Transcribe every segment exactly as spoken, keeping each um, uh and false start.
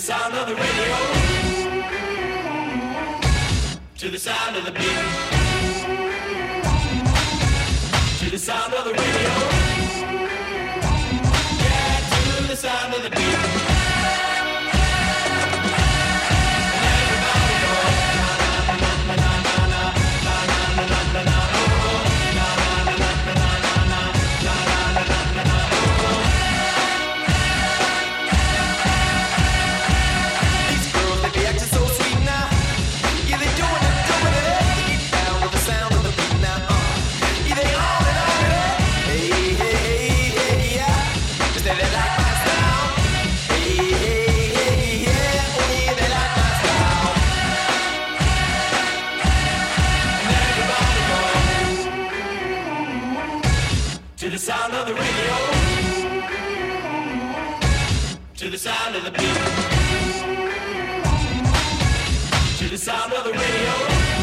sound of the radio, to the sound of the beat, to the sound of the radio, yeah, to the sound of the beat. To the sound of the radio, to the sound of the beat, to the sound of the radio,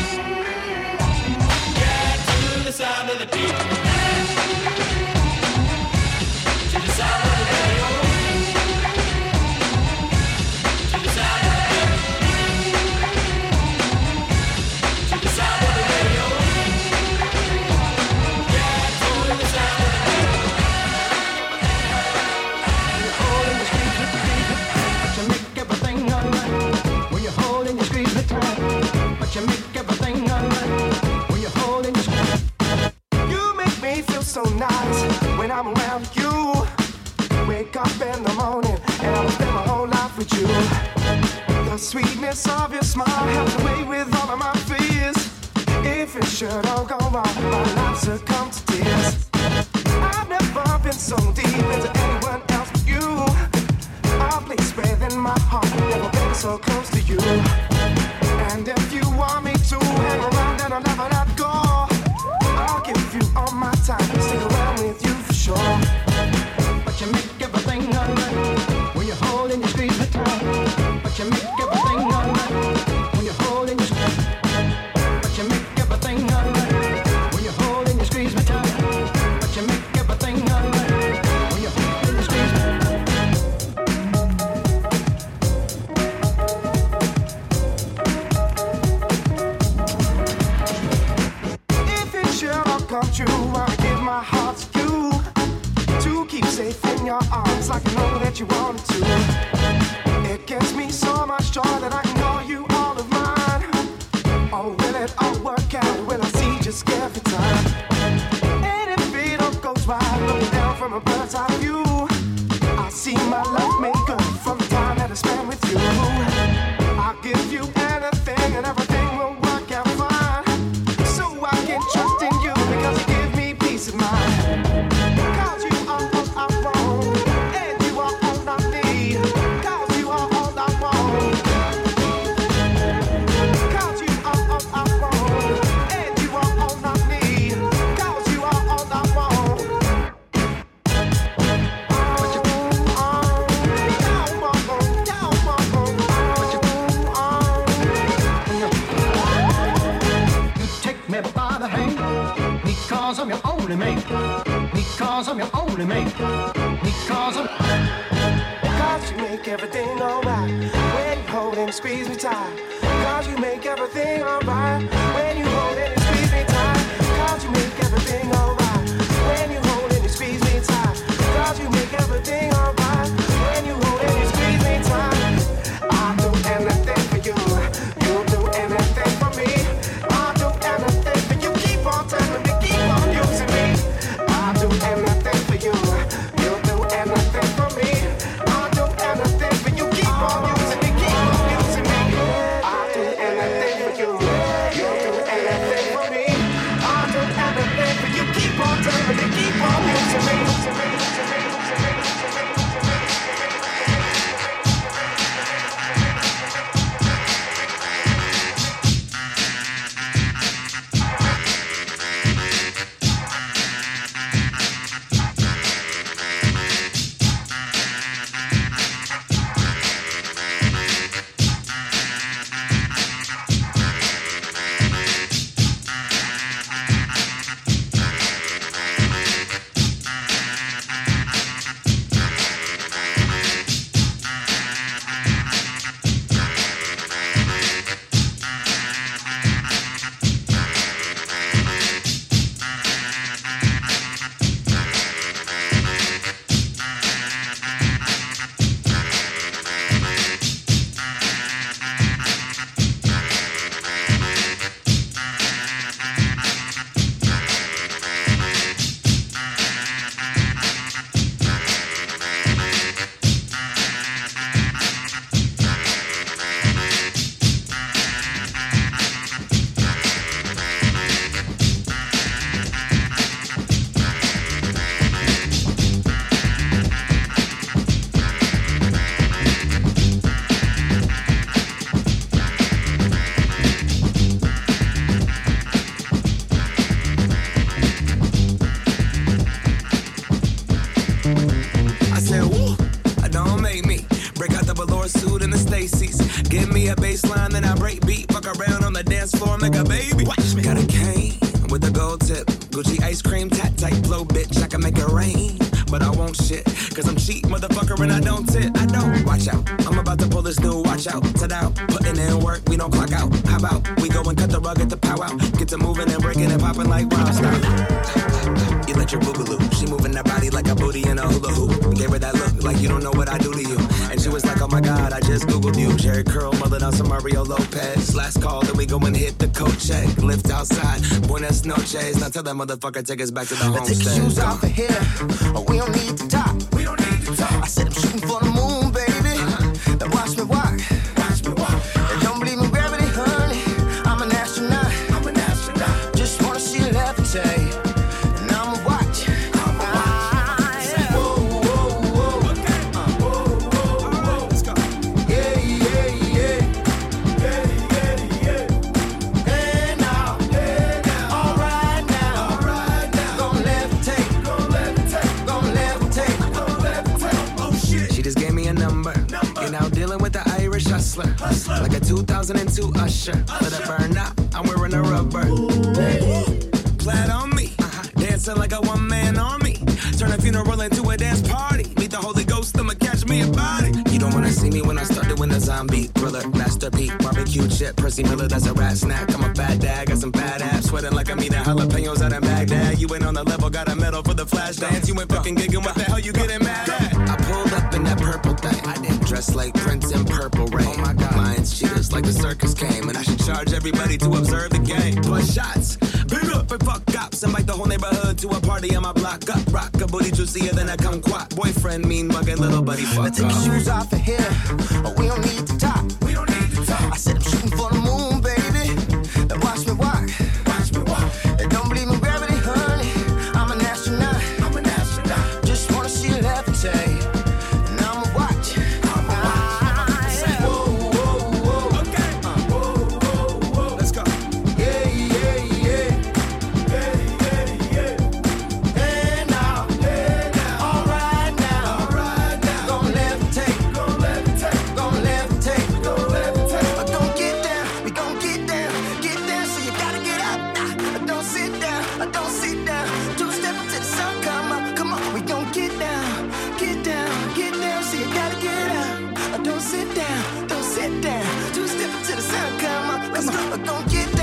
yeah, to the sound of the beat, to the sound of the radio, to the sound of the beat, to the sound of the radio, yeah, to the sound. You make everything alright when you're holding your script. You make me feel so nice when I'm around you. Wake up in the morning and I'll spend my whole life with you. The sweetness of your smile helps away with all of my fears. If it should all go wrong, my life succumb to tears. I've never been so deep into anyone else but you. A place within my heart, never been so close to you. And if you want me to hang around and I'll never let go, I'll give you all my time, stick around with you for sure. But you make everything alright when you're holding your squeeze me tight. But you make everything alright when you're holding your squeeze. But you make everything alright when you're holding your squeeze me tight. But you make everything alright when you're holding your squeeze me tight. Come true, I'll give my heart to you to keep safe in your arms like I know that you wanted to. It gives me so much joy that I can call you all of mine. Oh, will it all work out? Will I see just every time? And if it all goes right, looking down from a bird's eye view, I see my life made good from the time that I spent with you. I'll give you anything and everything will work out fine, so I can trust in you. Because you give me peace of mind. Cause you are all I want, and you are all I need. Cause you are all I want. Cause you are all I want, and you are all I need. Cause you are all I want. But you, oh, down, down, but you, oh, you take me by the hand. Because I'm your only mate. Because I'm your only mate. Because I'm. Because you make everything alright when you hold and squeeze me tight. Because you make everything alright when you hold and squeeze me tight. Because you make everything alright when you hold and squeeze me tight. Because you make everything alright when you hold and squeeze me tight. I'll do anything for you. You'll do anything for me. I'll do anything for you. Keep on telling me. Using me, I'll do anything for you. You'll do anything for me. I'll do anything for you. Keep on using me, keep on using me. I'll do anything for you. You'll floor, make a baby. Watch me. Got a cane with a gold tip. Gucci ice cream, tat tight blow, bitch. I can make it rain, but I won't shit. Cause I'm cheap, motherfucker, and I don't tip. I don't. Watch out. I'm about to pull this new watch out. Sit out. Putting in work, we don't clock out. How about we go and cut the rug at the pow out? Get to moving and breaking and popping like wow. Stop. You let your boogaloo. She moving that body like a booty in a hula hoop. Gave her that look like you don't know what I do to you. And she was like, oh my God, I just Googled you. Jerry Curl, mother down some Mario Lopez. Last call, then we go and hit the coat check. Lift outside, buenas noches. Now tell that motherfucker take us back to the homestead. Take your shoes off of here. Oh, we don't need to talk. We don't need to talk. I said I'm shooting for the moon, baby. Uh-huh. Now watch me walk. Watch me walk. And don't believe in gravity, honey. I'm an astronaut. I'm an astronaut. Just wanna see you levitate. And I'ma watch. I'ma watch. Yeah. Whoa, whoa, whoa. Okay. Uh, whoa, whoa, whoa. Let's go. Yeah, yeah, yeah. Yeah, yeah, yeah. Hey now. Hey now. All right now. All right now. Gon' levitate. Gon' levitate. Gon' levitate. Gon' levitate. Oh shit. She just gave me a number. number. You're now dealing with the Irish hustler. hustler. Like a two thousand two Usher. Usher. Let it burn out. I'm wearing a rubber. Plaid on me. Uh-huh. Dancing like a one-man army. Turn a funeral into a dance party. Meet the Holy Ghost, I'ma catch me a body. You don't wanna see me when I start doing the zombie thriller. Master P, barbecue chip, Percy Miller, that's a rat snack. I'm a fat dad, got some fat abs. Sweating like I'm eating jalapenos out in Baghdad. You ain't on the level, got a medal for the flash dance. You ain't fucking gigging, what the hell you getting mad at? I pulled up in that purple thing. I didn't dress like Prince in Purple Rain. Oh my God, lions, cheaters, like the circus came. And I should charge everybody to observe the game. Plus shots, big up and fuck cops. Invite the whole neighborhood to a party on my block up. Rock a booty juicier than a kumquat. Boyfriend mean mugging, little buddy fuck Now take your off. shoes off of here. Oh, we don't need to talk. We don't need to talk. I said I'm shooting for the moon, baby. Now watch me walk. Watch me walk. And don't believe in gravity, honey. I'm an astronaut. I'm an astronaut. Just wanna see you levitate. And I'ma watch. I'ma watch. Yeah. Whoa, whoa, whoa. Okay. Uh, whoa, whoa, whoa. Let's go. Yeah, yeah, yeah. Yeah, yeah, yeah. Hey now. Hey now. All right now. All right now. Gon' levitate. Gon' levitate. Gon' levitate. Gon' levitate. But don't get down. We gon' get down. Get down, so you gotta get up. Nah, don't sit down. Don't sit down. Two step until the sun come up. Come on, we gon' get down. Get down. Get down, so you gotta get up. Don't sit down. Don't sit down. Two step until the sun come up. Come on, we gon' get down.